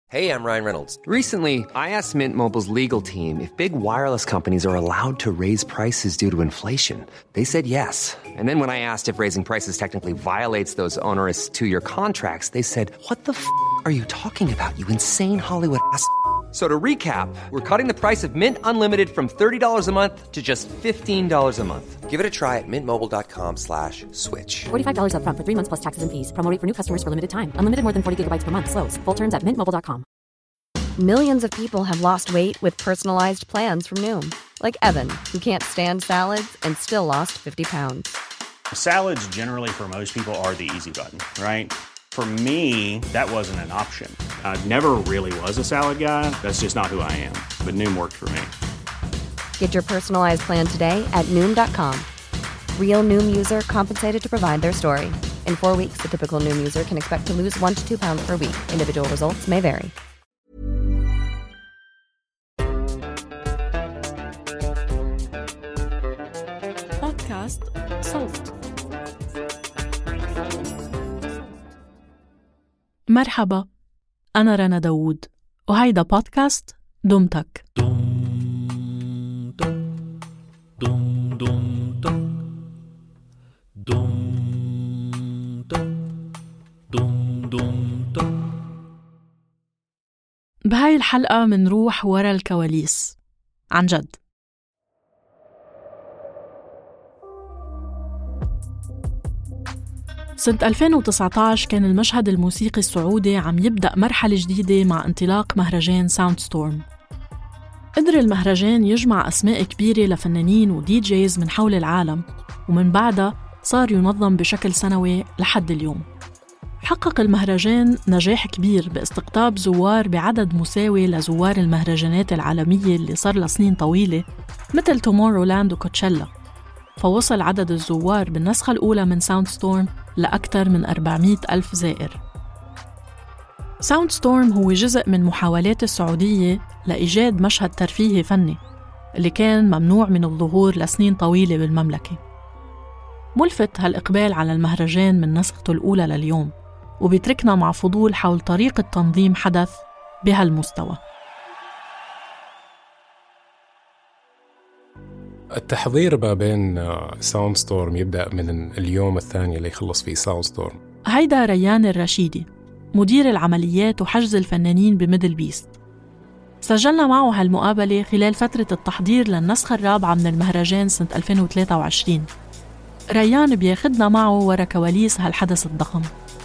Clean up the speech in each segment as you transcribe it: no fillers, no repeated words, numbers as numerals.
Hey, I'm Ryan Reynolds. Recently, I asked Mint Mobile's legal team if big wireless companies are allowed to raise prices due to inflation. They said yes. And then when I asked if raising prices technically violates those onerous two-year contracts, they said, "What the are you talking about, you insane Hollywood ass?" So to recap, we're cutting the price of Mint Unlimited from $30 a month to just $15 a month. Give it a try at mintmobile.com/switch. $45 up front for 3 months plus taxes and fees. Promo rate for new customers for limited time. Unlimited more than 40 gigabytes per month. Slows full terms at mintmobile.com. Millions of people have lost weight with personalized plans from Noom. Like Evan, who can't stand salads and still lost 50 pounds. Salads generally for most people are the easy button, right? For me, that wasn't an option. I never really was a salad guy. That's just not who I am. But Noom worked for me. Get your personalized plan today at Noom.com. Real Noom user compensated to provide their story. In 4 weeks, the typical Noom user can expect to lose 1 to 2 pounds per week. Individual results may vary. بودكاست صوت. مرحبا، أنا رنا داوود وهيدا بودكاست دمتك. بهاي الحلقة منروح ورا الكواليس عن جد. سنة 2019 كان المشهد الموسيقي السعودي عم يبدأ مرحلة جديدة مع انطلاق مهرجان ساوند ستورم. قدر المهرجان يجمع أسماء كبيرة لفنانين ودي جيز من حول العالم، ومن بعدها صار ينظم بشكل سنوي لحد اليوم. حقق المهرجان نجاح كبير باستقطاب زوار بعدد مساوي لزوار المهرجانات العالمية اللي صار لها سنين طويلة مثل تومورولاند وكوتشيلا، فوصل عدد الزوار بالنسخة الأولى من ساوند ستورم لأكثر من 400,000 زائر. ساوند ستورم هو جزء من محاولات السعودية لإيجاد مشهد ترفيهي فني اللي كان ممنوع من الظهور لسنين طويلة بالمملكة. ملفت هالإقبال على المهرجان من نسخته الأولى لليوم، وبيتركنا مع فضول حول طريقة تنظيم حدث بهالمستوى. التحضير ما بين ساوند ستورم يبدأ من اليوم الثاني اللي يخلص فيه ساوند ستورم. هيدا ريان الرشيدي، مدير العمليات وحجز الفنانين بميدل بيست. سجلنا معه هالمقابلة خلال فترة التحضير للنسخة الرابعة من المهرجان سنة 2023. ريان بياخدنا معه ورا كواليس هالحدث الضخم.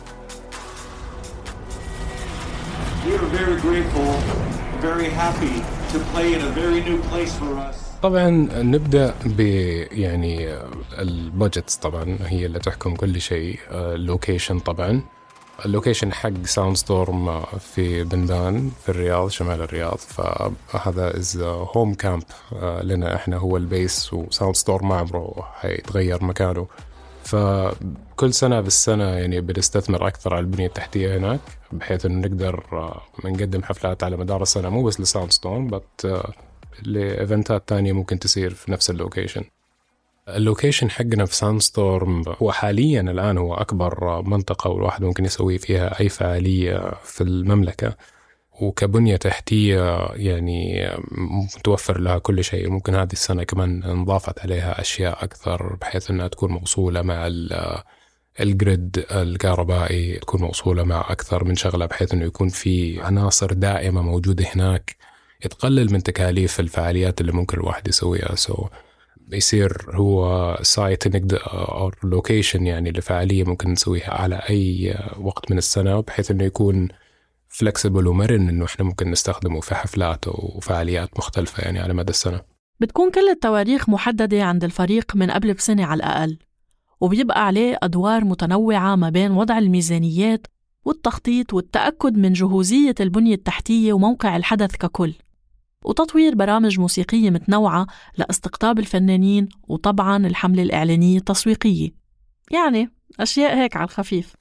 طبعاً نبدأ يعني البادجتس طبعاً هي اللي تحكم كل شيء. اللوكيشن طبعاً، اللوكيشن حق ساوند ستورم في بندان في الرياض، شمال الرياض، فهذا هوم كامب لنا احنا، هو البيس، وساوند ستورم ما عمره حيتغير مكانه. فكل سنة بالسنة يعني بنستثمر أكثر على البنية التحتية هناك، بحيث إنه نقدر نقدم حفلات على مدار السنة، مو بس لساوند ستورم بس لإيفنتات تانية ممكن تصير في نفس اللوكيشن. اللوكيشن حقنا في ساوند ستورم هو حاليا الآن هو أكبر منطقة والواحد ممكن يسوي فيها أي فعالية في المملكة، وكبنية تحتية يعني متوفر لها كل شيء. ممكن هذه السنة كمان انضافت عليها أشياء أكثر بحيث أنها تكون موصولة مع الجريد الكهربائي، تكون موصولة مع أكثر من شغلة، بحيث أنه يكون في عناصر دائمة موجودة هناك، يتقلل من تكاليف الفعاليات اللي ممكن الواحد يسويها. يصير هو سايت أو لوكيشن يعني لفعالية ممكن نسويها على أي وقت من السنة، بحيث أنه يكون فلكسبل ومرن، إنه إحنا ممكن نستخدمه في حفلات وفعاليات مختلفة يعني على مدى السنة. بتكون كل التواريخ محددة عند الفريق من قبل بسنة على الأقل، وبيبقى عليه أدوار متنوعة ما بين وضع الميزانيات والتخطيط والتأكد من جهوزية البنية التحتية وموقع الحدث ككل، وتطوير برامج موسيقية متنوعة لاستقطاب الفنانين، وطبعاً الحملة الإعلانية التسويقية، يعني أشياء هيك على الخفيف.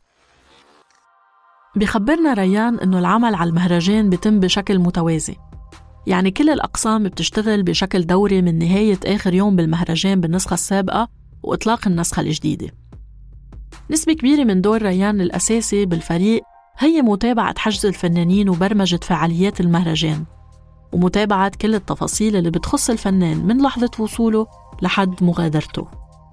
بيخبرنا ريان إنه العمل على المهرجان بيتم بشكل متوازي، يعني كل الأقسام بتشتغل بشكل دوري من نهاية آخر يوم بالمهرجان بالنسخة السابقة وإطلاق النسخة الجديدة. نسبة كبيرة من دور ريان الأساسي بالفريق هي متابعة حجز الفنانين وبرمجة فعاليات المهرجان، ومتابعة كل التفاصيل اللي بتخص الفنان من لحظة وصوله لحد مغادرته.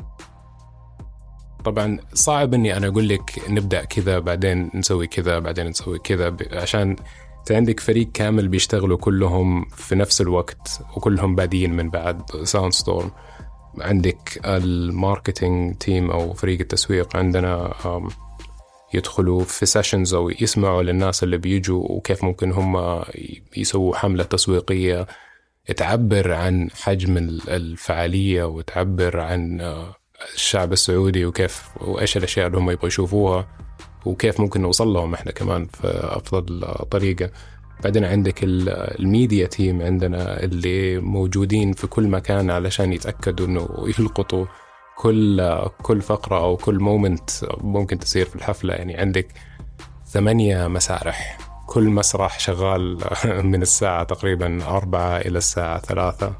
طبعا صعب اني انا اقول لك نبدا كذا بعدين نسوي كذا بعدين نسوي كذا، عشان انت عندك فريق كامل بيشتغلوا كلهم في نفس الوقت وكلهم بادين من بعد ساوند ستورم. عندك الماركتينج تيم او فريق التسويق عندنا يدخلوا في سيشنز او يسمعوا للناس اللي بيجوا وكيف ممكن هم يسووا حملة تسويقية تعبر عن حجم الفعالية وتعبر عن الشعب السعودي وكيف وإيش الأشياء اللي هم يبغوا يشوفوها وكيف ممكن نوصل لهم إحنا كمان في أفضل طريقة. بعدين عندك الميديا تيم عندنا اللي موجودين في كل مكان علشان يتأكدوا إنه يلقطوا كل فقرة أو كل مومنت ممكن تصير في الحفلة. يعني عندك 8 مسارح، كل مسرح شغال من الساعة تقريبا 4 إلى الساعة 3،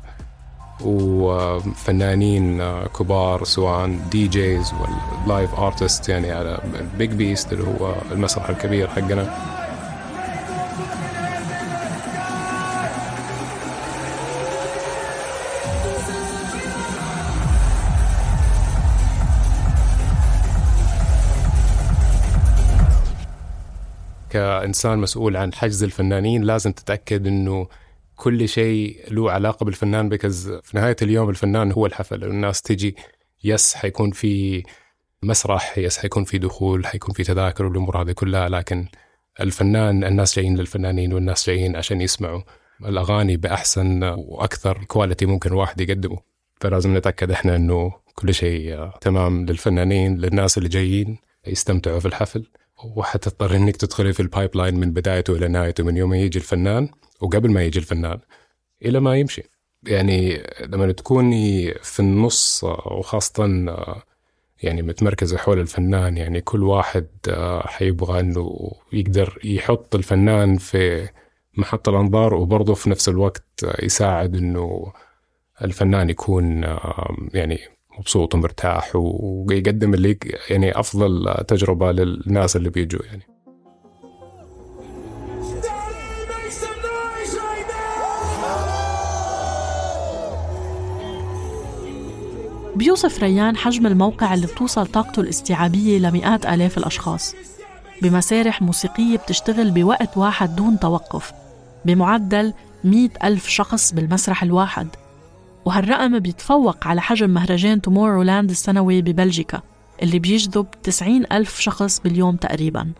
وفنانين كبار سواء دي جيز واللايف آرتست، يعني على بيج بيست اللي هو المسرح الكبير حقنا. كإنسان مسؤول عن حجز الفنانين لازم تتأكد إنه كل شيء له علاقة بالفنان، بكز في نهاية اليوم الفنان هو الحفل. الناس تجي يس حيكون في مسرح، يس حيكون في دخول، حيكون في تذاكر والأمور هذه كلها، لكن الفنان الناس جايين للفنانين والناس جايين عشان يسمعوا الأغاني بأحسن وأكثر كواليتي ممكن واحد يقدمه. فلازم نتأكد إحنا إنه كل شيء تمام للفنانين، للناس اللي جايين يستمتعوا في الحفل. وحتضطر إنك تدخلي في البايبلاين من بدايته إلى نهايته، من يوم يجي الفنان وقبل ما يجي الفنان إلى ما يمشي. يعني لما تكوني في النص وخاصة يعني متمركزة حول الفنان، يعني كل واحد حيبغى إنه يقدر يحط الفنان في محط الأنظار وبرضه في نفس الوقت يساعد إنه الفنان يكون يعني مبسوط ومرتاح ويقدم اللي يعني أفضل تجربة للناس اللي بيجوا. يعني بيوصف ريان حجم الموقع اللي بتوصل طاقته الاستيعابية لمئات آلاف الأشخاص، بمسارح موسيقية بتشتغل بوقت واحد دون توقف، بمعدل 100,000 شخص بالمسرح الواحد. وهالرقم بيتفوق على حجم مهرجان تومورولاند السنوي ببلجيكا اللي بيجذب 90,000 شخص باليوم تقريباً.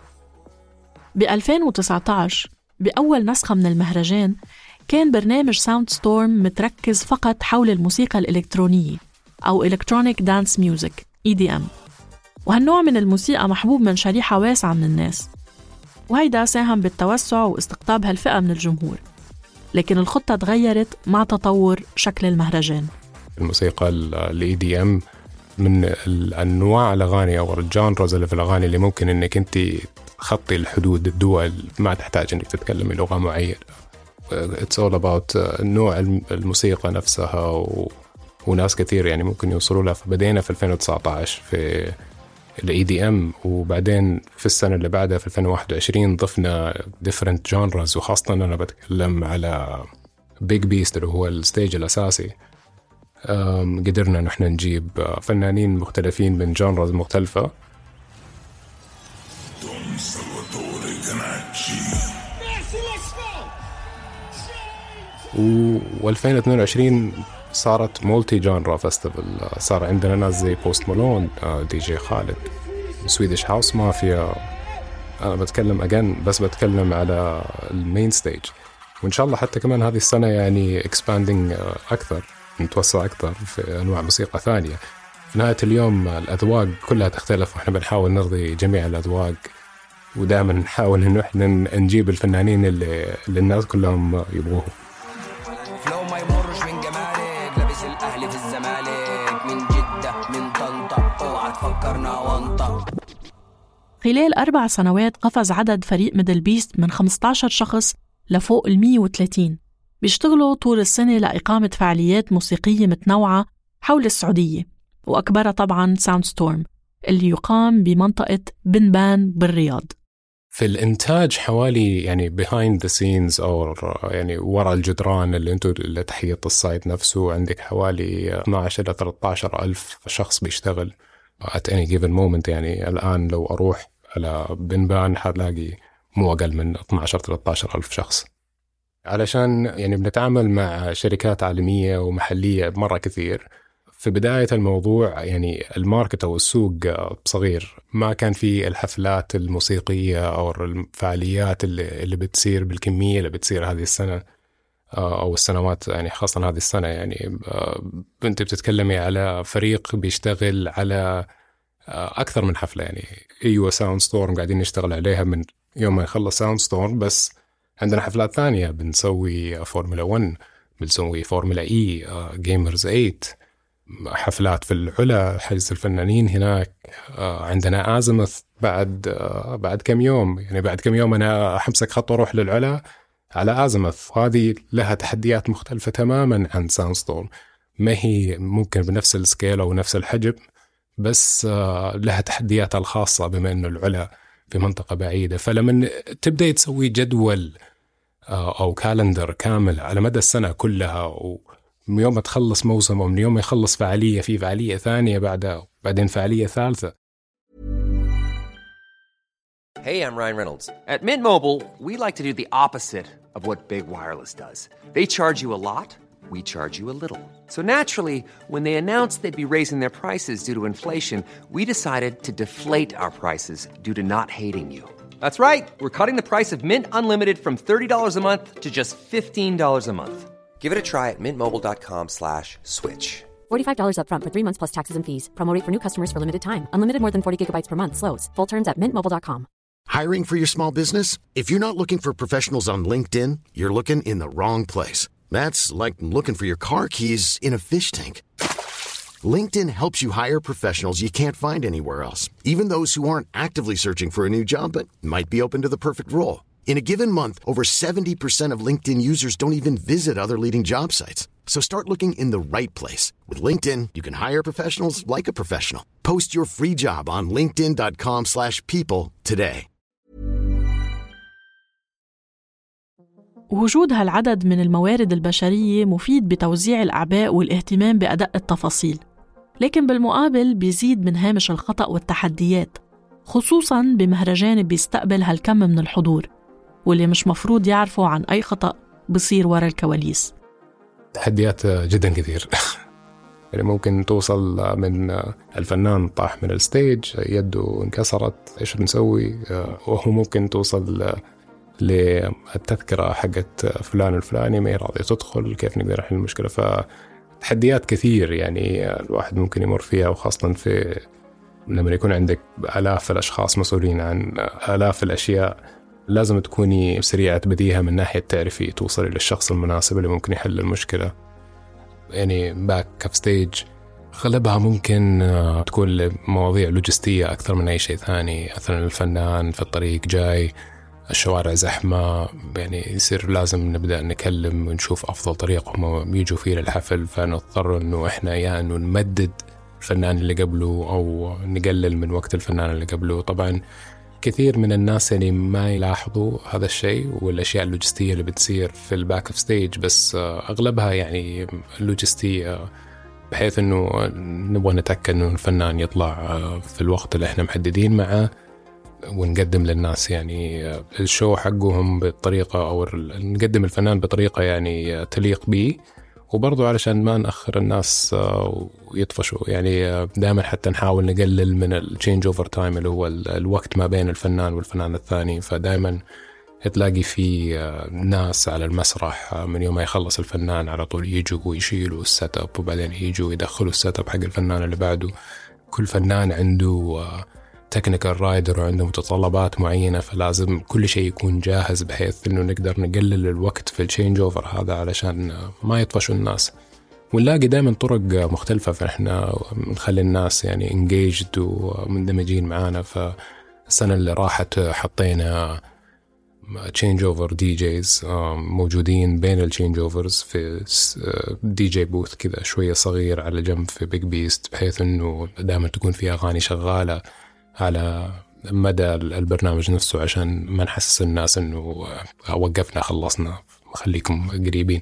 ب2019 بأول نسخة من المهرجان كان برنامج ساوند ستورم متركز فقط حول الموسيقى الإلكترونية أو Electronic Dance Music EDM، وهالنوع من الموسيقى محبوب من شريحة واسعة من الناس، وهيدا ساهم بالتوسع واستقطاب هالفئة من الجمهور. لكن الخطة تغيرت مع تطور شكل المهرجان. الموسيقى ال EDM من الأنواع الأغاني أو الجانرز اللي في الأغاني اللي ممكن إنك أنت تخطي الحدود الدول، ما تحتاج إنك تتكلمي لغة معينة. It's all about نوع الموسيقى نفسها وناس كثير يعني ممكن يوصلوا لها. فبدينا في 2019 في ال EDM، وبعدين في السنة اللي بعدها في 2021 ضفنا different genres، وخاصة أنا بتكلم على Big Beast اللي هو الستيج الأساسي. قدرنا نحن نجيب فنانين مختلفين من genres مختلفة. و2022 صارت مولتي جانرا فيستيفال. صار عندنا ناس زي بوست مالون، دي جي خالد، سويدش هاوس مافيا. أنا بتكلم على المين ستيج، وإن شاء الله حتى كمان هذه السنة يعني expanding أكثر، نتوسع أكثر في أنواع موسيقى ثانية. في نهاية اليوم الأذواق كلها تختلف، وإحنا بنحاول نرضي جميع الأذواق، ودائما نحاول إنه إحنا نجيب الفنانين اللي الناس كلهم يبغوه. فلو ما يمرش من جمالك، لابس الأهلي في الزمالك، من جدة من طنطا، اوعى تفكرنا وانطا. خلال 4 سنوات قفز عدد فريق ميدل بيست من 15 شخص لفوق 130، بيشتغلوا طول السنة لإقامة فعاليات موسيقية متنوعة حول السعودية، وأكبرها طبعاً ساوند ستورم اللي يقام بمنطقة بنبان بالرياض. في الإنتاج حوالي يعني behind the scenes أو يعني وراء الجدران اللي أنتوا اللي تحيط السايت نفسه، عندك حوالي 12 إلى 13 ألف شخص بيشتغل at any given moment. يعني الآن لو أروح على بنبان حلاقي مو أقل من 12-13 ألف شخص، علشان يعني بنتعامل مع شركات عالمية ومحلية مرة كثير. في بداية الموضوع يعني الماركت أو السوق صغير، ما كان في الحفلات الموسيقية أو الفعاليات اللي بتصير بالكمية اللي بتصير هذه السنة أو السنوات، يعني خاصة هذه السنة. يعني أنت بتتكلمي على فريق بيشتغل على أكثر من حفلة. يعني أيوة ساوند ستورم قاعدين نشتغل عليها من يوم ما يخلص ساوند ستورم، بس عندنا حفلات ثانية، بنسوي فورمولا 1، بنسوي فورمولا إي، جيمرز 8، حفلات في العلا، حجز الفنانين هناك. عندنا آزمث بعد كم يوم، يعني بعد كم يوم أنا حمسك خط وأروح للعلا على آزمث. هذه لها تحديات مختلفة تماما عن ساوند ستورم، ما هي ممكن بنفس السكيل أو نفس الحجم، بس لها تحدياتها الخاصة بما أنه العلا في منطقة بعيدة. فلما تبدأ تسوي جدول أو كالندر كامل على مدى السنة كلها، من يوم ما تخلص موسم ومن يوم ما يخلص فعالية، في فعالية ثانية بعدين فعالية ثالثة. Hey, I'm Ryan Reynolds. At Mint Mobile, we like to do the opposite of what Big Wireless does. They charge you a lot, we charge you a little. So naturally, when they announced they'd be raising their prices due to inflation, we decided to deflate our prices due to not hating you. That's right. We're cutting the price of Mint Unlimited from $30 a month to just $15 a month. Give it a try at mintmobile.com/switch. $45 up front for 3 months plus taxes and fees. Promo rate for new customers for limited time. Unlimited more than 40 gigabytes per month. Slows full terms at mintmobile.com. Hiring for your small business? If you're not looking for professionals on LinkedIn, you're looking in the wrong place. That's like looking for your car keys in a fish tank. LinkedIn helps you hire professionals you can't find anywhere else, even those who aren't actively searching for a new job but might be open to the perfect role. In a given month, over 70% of LinkedIn users don't even visit other leading job sites. So start looking in the right place. With LinkedIn, you can hire professionals like a professional. Post your free job on linkedin.com/people today. وجود هالعدد من الموارد البشرية مفيد بتوزيع الأعباء والاهتمام بأدق التفاصيل، لكن بالمقابل بيزيد من هامش الخطأ والتحديات، خصوصاً بمهرجان بيستقبل هالكم من الحضور واللي مش مفروض يعرفوا عن أي خطأ بصير وراء الكواليس. تحديات جدا كثير. يعني ممكن توصل من الفنان طاح من الستيج، يده انكسرت، إيش بنسوي؟ وهو ممكن توصل للتذكرة حقت فلان الفلاني ما راضي تدخل، كيف نقدر نحل المشكلة؟ فتحديات كثير يعني الواحد ممكن يمر فيها، وخاصة في لما يكون عندك آلاف الأشخاص مسؤولين عن آلاف الأشياء، لازم تكوني سريعة بديهة من ناحية تعرفي توصلي للشخص المناسب اللي ممكن يحل المشكلة. يعني باك كف ستيج غالبها ممكن تكون مواضيع لوجستية أكثر من أي شيء ثاني. مثلا الفنان في الطريق جاي، الشوارع زحمة، يعني يصير لازم نبدأ نكلم ونشوف أفضل طريقة هم يجوا فيه للحفل، فنضطر إنه إحنا يا إنه نمدد الفنان اللي قبله أو نقلل من وقت الفنان اللي قبله. طبعا كثير من الناس يعني ما يلاحظوا هذا الشيء والأشياء اللوجستية اللي بتصير في الباك اوف ستيج، بس أغلبها يعني اللوجستية، بحيث إنه نبغى نتأكد إنه الفنان يطلع في الوقت اللي إحنا محددين معه، ونقدم للناس يعني الشو حقهم بالطريقة، أو نقدم الفنان بطريقة يعني تليق به، وبرضو علشان ما نأخر الناس ويطفشوا. يعني دائما حتى نحاول نقلل من التشينج اوفر تايم اللي هو الوقت ما بين الفنان والفنان الثاني. فدائما تلاقي في ناس على المسرح من يوم ما يخلص الفنان على طول يجوا ويشيلوا السيت اب، وبعدين يجوا يدخلوا السيت اب حق الفنان اللي بعده. كل فنان عنده تكنيكال رايدر وعنده متطلبات معينة، فلازم كل شيء يكون جاهز بحيث إنه نقدر نقلل الوقت في التشينج أوفر هذا علشان ما يطفشوا الناس. ونلاقي دائما طرق مختلفة، فإحنا نخلي الناس يعني engaged ومندمجين معانا. فالسنة اللي راحت حطينا تشينج أوفر دي جيز موجودين بين التشينج أوفرز في دي جي بوث كذا شوية صغير على جنب في بيج بيست، بحيث إنه دائما تكون فيها أغاني شغالة على مدى البرنامج نفسه عشان ما نحسس الناس إنه وقفنا خلصنا، خليكم قريبين.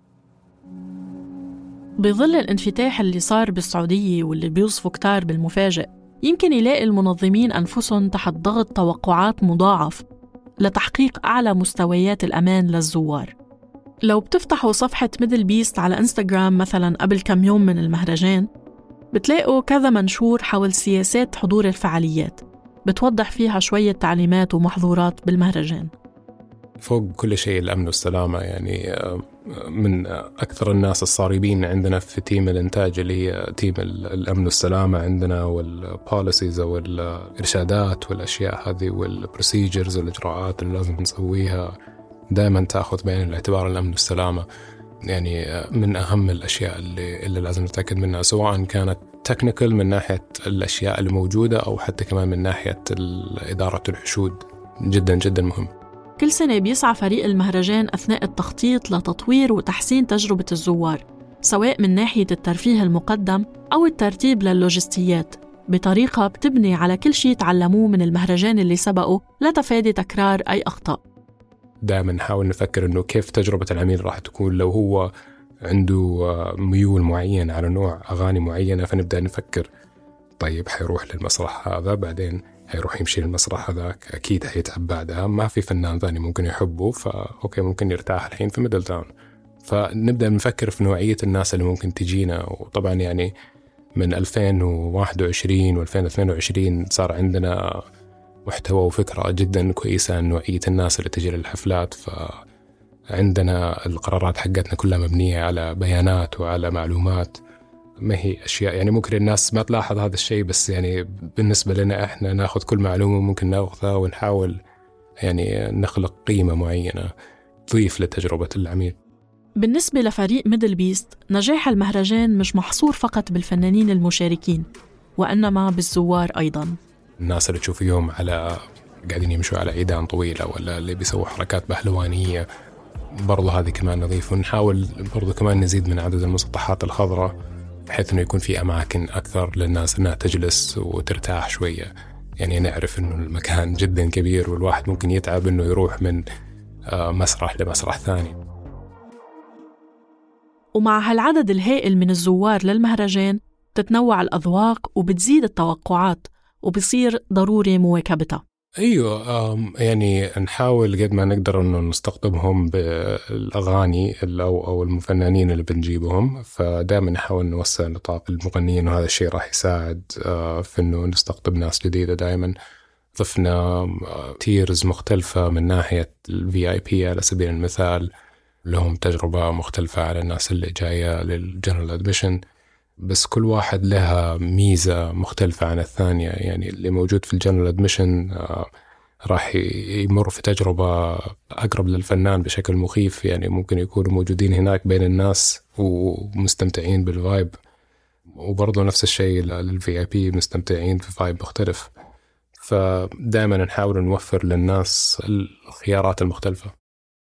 بظل الانفتاح اللي صار بالسعودية واللي بيوصفه كتار بالمفاجئ، يمكن يلاقي المنظمين أنفسهم تحت ضغط توقعات مضاعف لتحقيق أعلى مستويات الأمان للزوار. لو بتفتحوا صفحة ميدل بيست على إنستغرام مثلاً قبل كم يوم من المهرجان، بتلاقوا كذا منشور حول سياسات حضور الفعاليات بتوضح فيها شوية تعليمات ومحظورات بالمهرجان. فوق كل شيء الأمن والسلامة، يعني من أكثر الناس الصاربين عندنا في تيم الإنتاج اللي هي تيم الأمن والسلامة عندنا، والبوليسيز أو الإرشادات والأشياء هذه والبروسيجرز والإجراءات اللي لازم نسويها دائما تأخذ بعين الاعتبار الأمن والسلامة. يعني من أهم الأشياء اللي لازم نتأكد منها، سواء كانت تكنيكال من ناحية الأشياء اللي موجودة أو حتى كمان من ناحية إدارة الحشود. جدا جدا مهم. كل سنة بيسعى فريق المهرجان أثناء التخطيط لتطوير وتحسين تجربة الزوار، سواء من ناحية الترفيه المقدم أو الترتيب للوجستيات، بطريقة بتبني على كل شيء تعلموه من المهرجان اللي سبقه لتفادي تكرار أي أخطاء. دائما نحاول نفكر إنه كيف تجربة العميل راح تكون لو هو عنده ميول معين على نوع أغاني معينة، فنبدأ نفكر طيب حيروح للمسرح هذا، بعدين هيروح يمشي للمسرح هذاك، أكيد هيتعب بعدها، ما في فنان ثاني ممكن يحبه، فأوكي ممكن يرتاح الحين في ميدل تاون. فنبدأ نفكر في نوعية الناس اللي ممكن تجينا. وطبعا يعني من 2021 و2022 صار عندنا محتوى وفكرة جدا كويسة عن نوعية الناس اللي تجي للحفلات. فعندنا القرارات حقتنا كلها مبنية على بيانات وعلى معلومات، ما هي أشياء يعني ممكن الناس ما تلاحظ هذا الشيء، بس يعني بالنسبة لنا إحنا ناخذ كل معلومة ممكن ناخذها ونحاول يعني نخلق قيمة معينة تضيف لتجربة العميل. بالنسبة لفريق ميدل بيست، نجاح المهرجان مش محصور فقط بالفنانين المشاركين، وإنما بالزوار أيضاً. الناس اللي تشوف يوم على قاعدين يمشوا على عيدان طويلة ولا اللي بيسووا حركات بهلوانية، برضو هذه كمان نضيف. ونحاول برضو كمان نزيد من عدد المسطحات الخضراء بحيث إنه يكون في أماكن أكثر للناس إنها تجلس وترتاح شوية. يعني نعرف إنه المكان جدا كبير والواحد ممكن يتعب إنه يروح من مسرح لمسرح ثاني. ومع هالعدد الهائل من الزوار للمهرجان تتنوع الأذواق وبتزيد التوقعات، وبصير ضروري مواكبتها. أيوة، يعني نحاول قد ما نقدر إنه نستقطبهم بالأغاني أو المفنانين اللي بنجيبهم، فدائما نحاول نوسع نطاق المغنيين، وهذا الشيء راح يساعد في إنه نستقطب ناس جديدة. دائما ضفنا تيرز مختلفة من ناحية VIP على سبيل المثال، لهم تجربة مختلفة على الناس اللي جاية للجنرال أدميشن، بس كل واحد لها ميزة مختلفة عن الثانية. يعني اللي موجود في الجنرال أدميشن راح يمر في تجربة أقرب للفنان بشكل مخيف، يعني ممكن يكونوا موجودين هناك بين الناس ومستمتعين بالفايب، وبرضه نفس الشيء للVIP مستمتعين في فايب مختلف. فدائما نحاول نوفر للناس الخيارات المختلفة.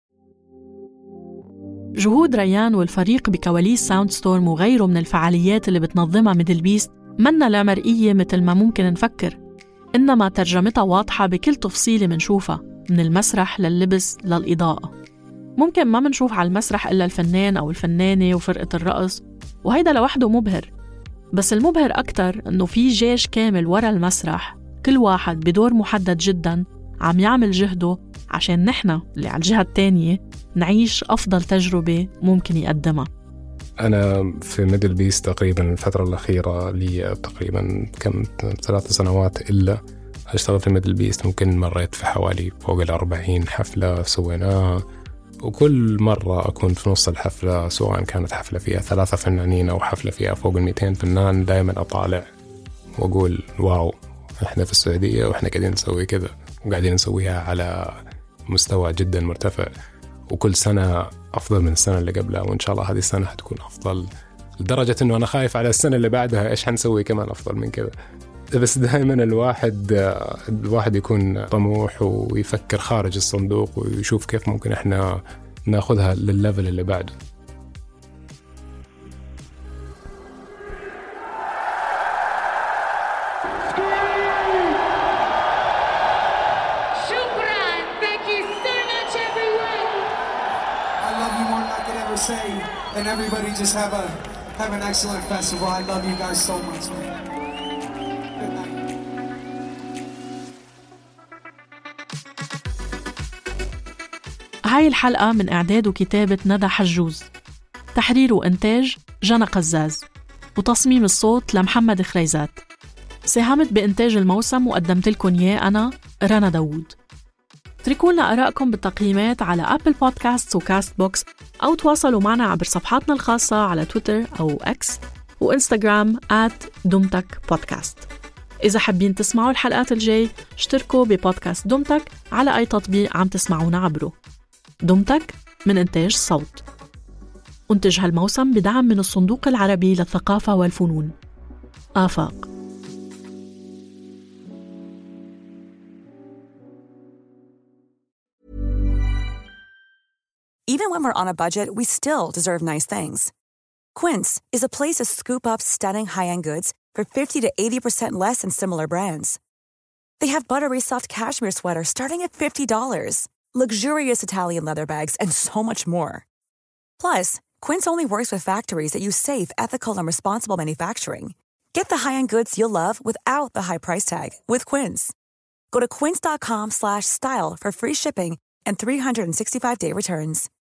جهود ريان والفريق بكواليس ساوند ستورم وغيره من الفعاليات اللي بتنظمها ميدل بيست منا لا مرئية مثل ما ممكن نفكر، إنما ترجمتها واضحة بكل تفصيلة منشوفها، من المسرح لللبس للإضاءة. ممكن ما منشوف على المسرح إلا الفنان أو الفنانة وفرقة الرقص، وهيدا لوحده مبهر، بس المبهر أكتر إنه في جيش كامل ورا المسرح، كل واحد بدور محدد جداً عم يعمل جهده عشان نحن اللي على الجهة التانية نعيش أفضل تجربة ممكن يقدمها. أنا في ميدل بيست تقريباً الفترة الأخيرة لي تقريباً كم 3 سنوات إلا أشتغل في ميدل بيست. ممكن مريت في حوالي فوق 40 حفلة سويناها، وكل مرة أكون في نص الحفلة، سواء كانت حفلة فيها 3 فنانين أو حفلة فيها فوق 200 فنان، دائماً أطالع وأقول واو، إحنا في السعودية وإحنا قاعدين نسوي كذا، وقاعدين نسويها على مستوى جدا مرتفع، وكل سنة أفضل من السنة اللي قبلها، وإن شاء الله هذه السنة حتكون أفضل، لدرجة إنه أنا خايف على السنة اللي بعدها إيش حنسوي كمان أفضل من كذا. بس دائما الواحد يكون طموح ويفكر خارج الصندوق ويشوف كيف ممكن إحنا ناخذها للليفل اللي بعده. to say, and everybody just have an excellent festival. I love you guys so much, man. Good night. هاي الحلقة من إعداد وكتابة ندى حجوز، تحرير وإنتاج جنى قزاز، وتصميم الصوت لمحمد خريزات. ساهمت بإنتاج الموسم وقدمت لكم إياه أنا رنا داوود. اتركوا لنا آرائكم بالتقييمات على أبل بودكاست وكاست بوكس، أو تواصلوا معنا عبر صفحاتنا الخاصة على تويتر أو إكس وإنستغرام @دمتك بودكاست. إذا حابين تسمعوا الحلقات الجاي اشتركوا ببودكاست دمتك على أي تطبيق عم تسمعونا عبره. دمتك من إنتاج صوت. أنتج هالموسم بدعم من الصندوق العربي للثقافة والفنون آفاق. Even when we're on a budget, we still deserve nice things. Quince is a place to scoop up stunning high-end goods for 50 to 80% less than similar brands. They have buttery soft cashmere sweaters starting at $50, luxurious Italian leather bags, and so much more. Plus, Quince only works with factories that use safe, ethical, and responsible manufacturing. Get the high-end goods you'll love without the high price tag with Quince. Go to quince.com/style for free shipping and 365-day returns.